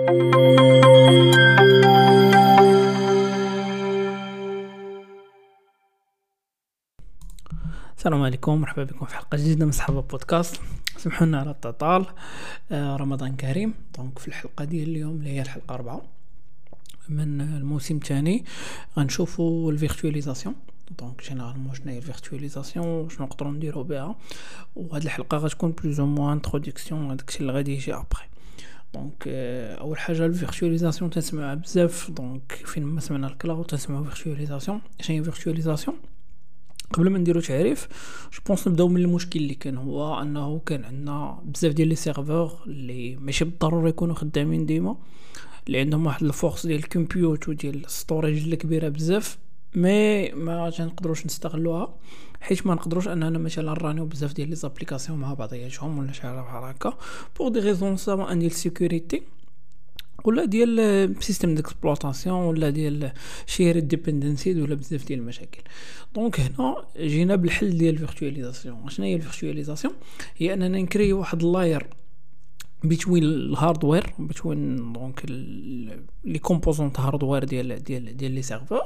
السلام عليكم، مرحبا بكم في حلقه جديده من صحابه بودكاست. سمحوا لنا على التطال. رمضان كريم. دونك في الحلقه ديال اليوم اللي هي الحلقه 4 من الموسم الثاني غنشوفوا الفيرتواليزاسيون. دونك جينيرالمون شنو هي الفيرتواليزاسيون وشنو نقدروا نديروا بها، وهاد الحلقه غتكون بلوز او موان انتروداكسيون داكشي اللي غادي يجي ابري. دونك اول حاجه الفيرتواليزاسيون تنسمعها بزاف. دونك فين ما سمعنا الكلاود تنسمعوا فيرتواليزاسيون. شنو هي فيرتواليزاسيون؟ قبل ما نديرو تعريف جو نبداو من المشكل اللي كان، هو انه كان عندنا بزاف ديال لي سيرفور اللي ماشي بالضروره يكونوا خدامين ديما، اللي عندهم واحد الفورس ديال الكمبيوت وديال الستوريج اللي كبيره بزاف، ما تنقدروش نستغلوها، حيت ما نقدروش اننا مثلا رانيو بزاف ديال لي زابليكاسيون مع بعضياتهم ولا شي حاجه بحال هكا بوغ دي ريزون سوا ديال السيكوريتي ولا ديال سيستم ديكسبلوطاسيون ولا ديال شير ديبندنسي ولا بزاف ديال المشاكل. دونك هنا جينا بالحل ديال الفيرتواليزاسيون. شنو هي الفيرتواليزاسيون؟ هي اننا نكري واحد اللاير بين الهاردوير، بين دونك لي كومبوزونط هاردوير ديال لي سيرفور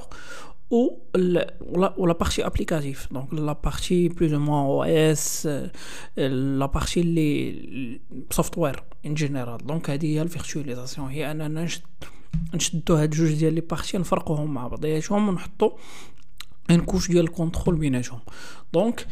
ou la partie applicative. Donc la partie plus ou moins OS, la partie les software en général. Donc هذه هي الفيرتواليزاسيون، هي اننا نشدو هاد جوج ديال لي بارتي نفرقوهم مع بعضياتهم ونحطو ان كوش ديال الكونترول بيناتهم. دونك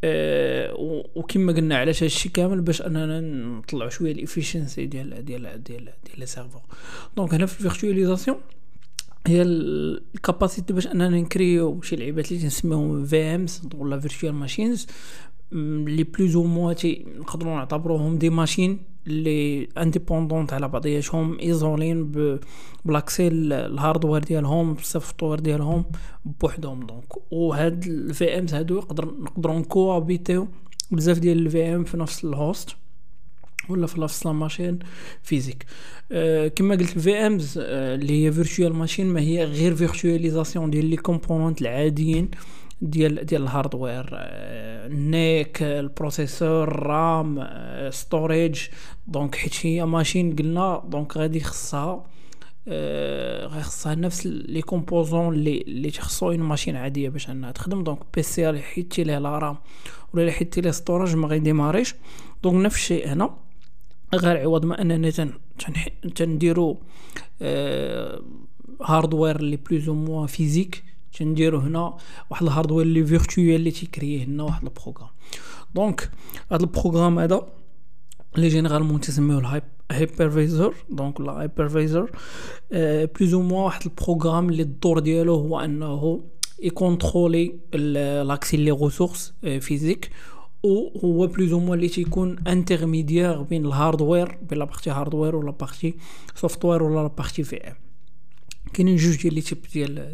وكما قلنا علاش هادشي كامل باش اننا نطلعوا شويه الافيشنسي ديال لي سيرفور. دونك هنا في الفيرتواليزاسيون هي الكاباسيتي باش اننا نكريو شي لعيبات اللي تنسميهم في امز ولا فيرتوال ماشينز اللي بلوز او موا نقدروا نعتبروهم دي ماشين اللي انديبوندونت على بعضياتهم، ايزولين بلاكسي الهاردوير ديالهم بالسوفتوير ديالهم بوحدهم. دونك وهاد الفي امز هادو نقدروا نكوابيتيو بزاف ديال الفي ام في نفس الهوست ولا في نفس ماشين فيزيك. كما قلت الفي امز اللي هي فيرتوال ماشين ما هي غير فيرتواليزاسيون ديال لي كومبوننت العاديين ديال الهاردوير، النيك، البروسيسور، رام، ستوريج. دونك حيت هي ماشين قلنا دونك غادي خصها نفس لي كومبوزون اللي تخصو اون ماشين عاديه باش انها تخدم. دونك بي سي اللي حيتي ليه لا رام ولا حيتي ليه ستوريج ما غيديماريش. دونك نفس الشيء هنا، غير عوض ما اننا تنديرو هاردوير اللي بلوز او موا فيزيك، تنديرو هنا واحد الهاردوير اللي فيرتوال اللي تيكريه لنا واحد البروغرام. دونك هذا البروغرام هذا اللي جينيرالمون تسميوه الهايبرفيزور. دونك لا هايبرفيزور بلوز او موا واحد البروغرام اللي الدور ديالو هو انه يكونترولي لاكسي لي ريسورس فيزيك، وهو بلوز او موا اللي تيكون انترميديير بين الهاردوير، بين لا بارتي هاردوير ولا بارتي سوفتوير ولا لا بارتي في ام. كاينين جوج ديال لي تيب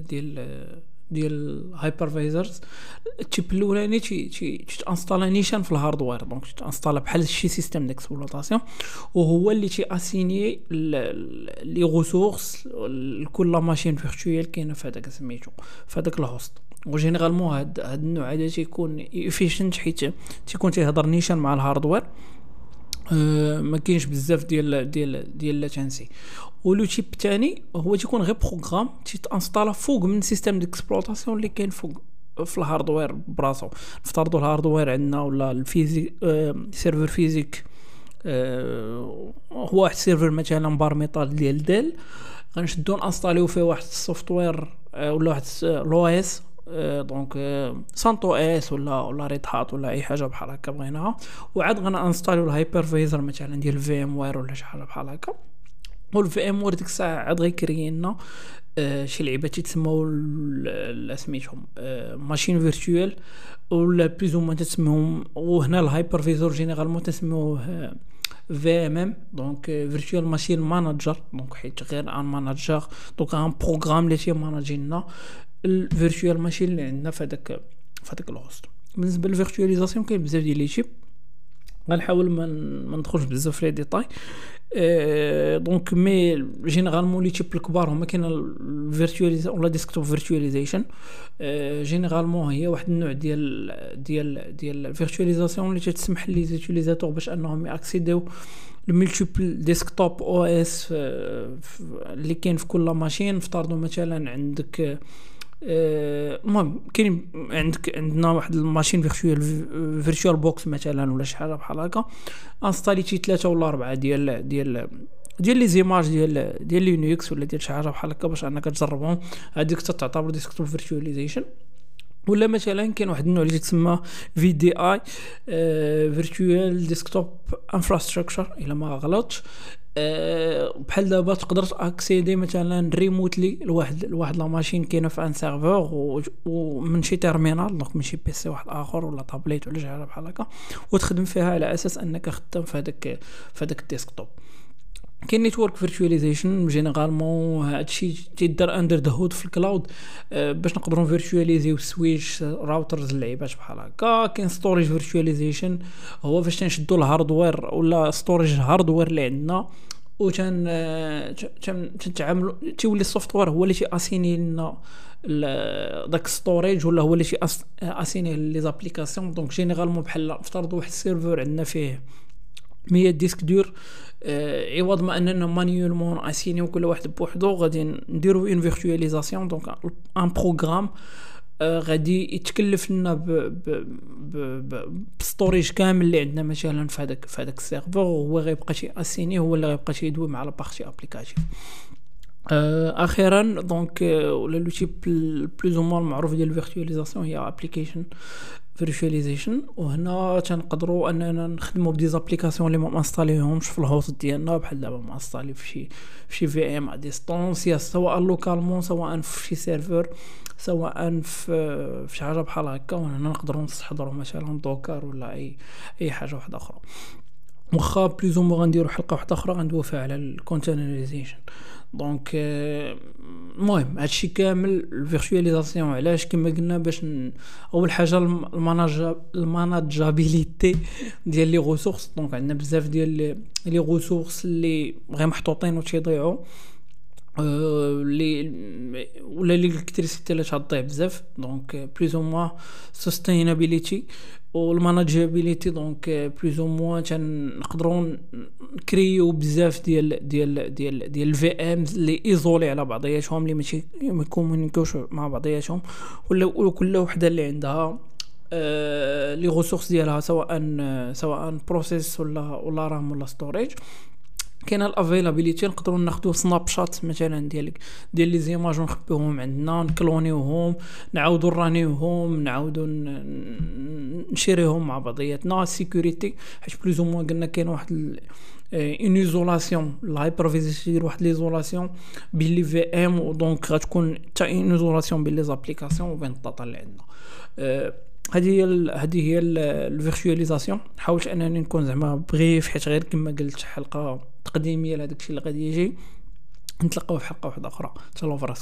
ديال هايبرفايزرز. التيب الاولاني تانستالا نيشان في الهاردوير، دونك تانستالا بحال شي سيستم ديكسبلوطاسيون، وهو اللي اسيني لي ريسورس لكل ماشين فيرتوال كاينه في هذاك سميتو في هذاك الهوست. وجينيرالمون هاد النوع هذا تيكون افيشنت حيت تيكون تيهضر نيشان مع الهاردوير، ما كاينش بزاف ديال لاتانسي. ولو تيب الثاني هو تيكون غير بروغرام تيتانستالا فوق من سيستم ديكسبلوطاسيون اللي كاين فوق في الهاردوير براسو. نفترضوا الهاردوير عندنا ولا الفيزيك سيرفر فيزيك هو واحد السيرفر مثلا بار ميطال ديال ديل، غنشدو نانستاليو فيه واحد السوفتوير ولا واحد لو اس، دونك سانتو اس ولا ريد هات ولا اي حاجه بحال هكا بغيناها، وعاد غنانستاليو الهايبرفايزر مثلا ديال في ام وير ولا شي حاجه بحال هكا. والفي ام وير ديك الساعه عاد غيكري لنا شي لعيبه تيتسموا سميتهم ماشين فيرتوال ولا بلوز ما تسميهم. وهنا الهايبرفايزر جينيرالمون تسموه في ام ام، دونك فيرتوال ماشين مانجر. دونك حيت غير ان مانجر، دونك ان بروغرام اللي تيماناجي لنا الفيرتوال ماشين اللي عندنا في هذاك الهوست. بالنسبه للفيرتواليزاسيون كاين بزاف ديال لي تيب، غنحاول ما ندخلش بزاف في لي ديتاي. دونك مي جينيرالمون لي تيب الكبار هما كاين الفيرتواليزاسيون ولا ديسكتوب فيرتواليزيشن. جينيرالمون هي واحد النوع ديال الفيرتواليزاسيون اللي تسمح لي زيتيليزاتور باش انهم ياكسيديو الملتيبل ديسكتوب او اس اللي كاين في كل ماشين. افترضوا مثلا عندك المهم كاين عندنا واحد الماشين فيرتشوال بوكس مثلا ولا شي حاجه بحال هكا، انستاليتي 3 ولا 4 ديال لي زيماج ديال لينكس ولا ديال شي حاجه بحال هكا باش انك تجربهم، هذيك تعتبر ديسكتوب فيرتواليزيشن. ولا مثلا كاين واحد النوع اللي يتسمى في دي اي فيرتوال ديسكتوب انفراستراكشر الا ما غلطش. بحال دابا تقدر اكسيدي مثلا ريموتلي لواحد لا ماشين كاينه في ان سيرفور ومن شي تيرمينال، دونك من شي بي سي واحد اخر ولا طابليت ولا شي حاجه بحال هكا، وتخدم فيها على اساس انك خدام في هذاك الديسكتوب. كاين نيتورك فيرتواليزيشن جينيرالمون هادشي تيدار اندر ذا هود في الكلاود باش نقدروا فيرتواليزيو سويتش راوترز اللعيبات بحال هكا. كاين ستوريج فيرتواليزيشن هو فاش تنشدوا الهاردوير ولا ستوريج الهاردوير اللي عندنا و تنتعاملوا تيولي السوفتوير هو اللي تياسيني لنا داك ستوريج ولا هو اللي تياسيني لي زابليكاسيون. دونك جينيرالمون بحال افترضوا واحد السيرفر عندنا فيه 100 ديسك دور، عوض ما اننا مانيولمون اسينيو كل واحد بوحدو غادي نديرو اون فيرتواليزاسيون. دونك ان بروغرام غادي يتكلف لنا بستوريج كامل اللي عندنا مثلا في هذاك السيرفر، وهو غيبقى شي اسيني هو اللي غيبقى شي يدوي مع لا بارتي ابليكاتيف. اخيرا دونك ولا لوتي بلوز او مون معروف ديال الفيرتواليزاسيون هي ابليكيشن فيرتواليزيشن. وهنا تنقدروا اننا نخدموا بدي زابليكاسيون اللي ما انستاليهمش في الهوست ديالنا، بحال دابا ما انستالي في شي في ام ا ديستونس، سواء لوكالمون سواء في شي سيرفر سواء في شي حاجه بحال هكا. وهنا نقدروا نستحضروا مثلا دوكر ولا اي حاجه واحده اخرى. واخا بلوز مو غنديروا حلقه واحده اخرى غندويو فيها على الكونتينريزيشن. دونك المهم هادشي كامل الفيرتواليزاسيون علاش كما قلنا باش اول حاجه الماناجابيليتي ديال لي ريسورس. دونك عندنا بزاف ديال لي ريسورس اللي غير محطوطين وتيضيعوا لي ولا الالكتريسيتي اللي تضيع بزاف. دونك بلوز او موا سستينابيليتي والماناجابيليتي. دونك بلوز او موا تنقدروا نكريو بزاف ديال الفي امز اللي ايزولي على بعضياتهم اللي ماشي يكومونيكوش مع بعضياتهم، ولا كل وحده اللي عندها لي ريسورس ديالها سواء بروسيس ولا رام ولا ستوريج. كاينه الافيلابيليتي نقدروا ناخذوا سناب شات مثلا ديال لي زيماج ونخبيوهم عندنا نكلونيوهم نعاودوا نرانيوهم نعاودوا نشيريهم مع بعضياتنا. سيكوريتي حيت بلوز او موان قلنا كاين واحد اون ايزولاسيون الهايبرفيزي دير واحد ليزولاسيون بين لي في ام، دونك غتكون حتى اون ايزولاسيون بين لي زابليكاسيون وبين الداتا اللي عندنا. هذه هي الفيرتواليزاسيون. حاولت انني نكون زعما بريف حيت غير كما قلت حلقه تقديميه لهذاك الشيء اللي غادي يجي. نتلاقاو في حلقه واحده اخرى. تهلاو فراسكم.